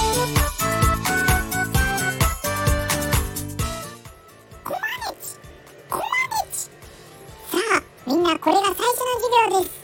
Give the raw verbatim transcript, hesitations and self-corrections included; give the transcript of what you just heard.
コマネチ、コマネチ。さあみんな、これが最初の授業です。